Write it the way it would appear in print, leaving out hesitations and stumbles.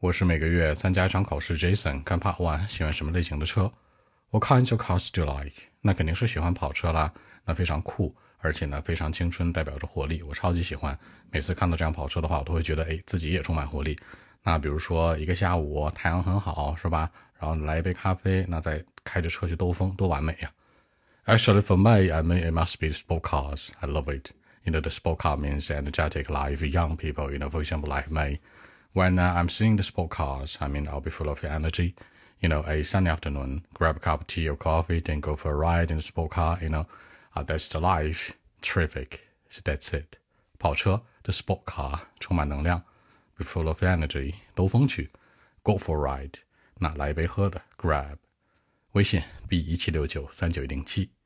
我是每个月参加一场考试 Jason， 看 Part 1，喜欢什么类型的车？ What kinds of cars do you like？ 那肯定是喜欢跑车啦，那非常酷，而且呢非常青春，代表着活力，我超级喜欢。每次看到这样跑车的话，我都会觉得自己也充满活力。那比如说一个下午太阳很好，是吧？然后来一杯咖啡，那再开着车去兜风，多完美呀。Actually, for me, I mean, it must be sport cars. I love it. The sport car means energetic life, young people, for example, like me. When I'm seeing the sport cars, I mean, I'll be full of energy. A sunny afternoon, grab a cup of tea or coffee, then go for a ride in the sport car, that's the life. Terrific. So that's it. 跑车 the sport car 充满能量 be full of energy 兜风去 go for a ride 那来一杯喝的 grab 微信 B176939107